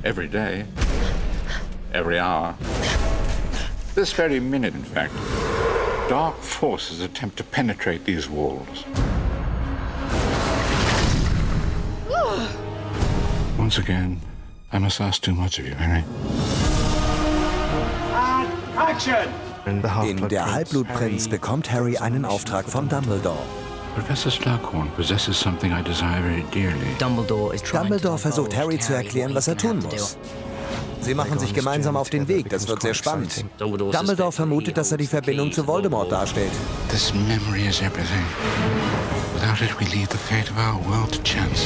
every day, every hour. This very minute, in fact, dark forces attempt to penetrate these walls. Once again, I must ask too much of you, Harry. Action! In Der Halbblutprinz bekommt Harry einen Auftrag von Dumbledore. Professor Slughorn possesses something I desire very dearly. Dumbledore versucht Harry zu erklären, was er tun muss. Sie machen sich gemeinsam auf den Weg, das wird sehr spannend. Dumbledore vermutet, dass er die Verbindung zu Voldemort darstellt. This memory is everything. Without it, we leave the fate of our world to chance.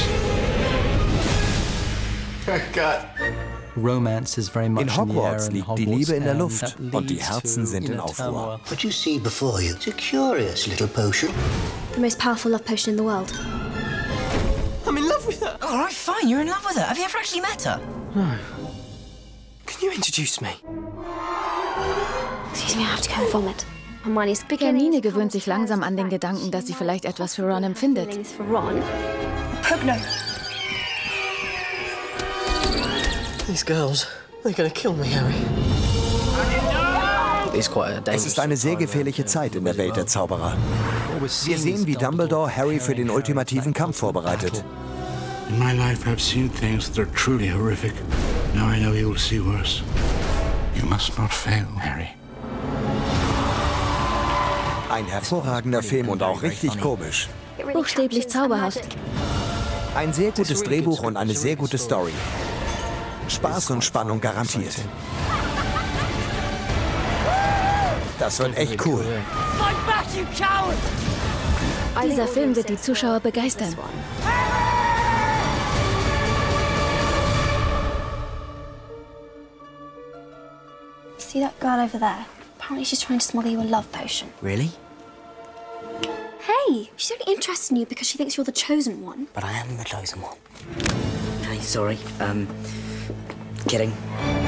In Hogwarts liegt die Liebe in der Luft und die Herzen sind in Aufruhr. What you see before you is a curious little potion. The most powerful love potion in the world. I'm in love with her. All right, fine, you're in love with her. Have you ever actually met her? No. Can you introduce me? Excuse me, I have to go and vomit. Hermine gewöhnt sich langsam an den Gedanken, dass sie vielleicht etwas für Ron empfindet. Pugno. These girls, they're gonna kill me, Harry. Es ist eine sehr gefährliche Zeit in der Welt der Zauberer. Wir sehen, wie Dumbledore Harry für den ultimativen Kampf vorbereitet. In my life I've seen things that are truly horrific. Now I know you will see worse. You must not fail, Harry. Ein hervorragender Film und auch richtig komisch. Buchstäblich zauberhaft. Ein sehr gutes Drehbuch und eine sehr gute Story. Spaß und Spannung garantiert. Das wird echt cool. Dieser Film wird die Zuschauer begeistern. See that girl over there? Apparently she's trying to smuggle you a love potion. Really? Hey, she's only interested in you because she thinks you're the chosen one. But I am the chosen one. Okay, sorry. Kidding.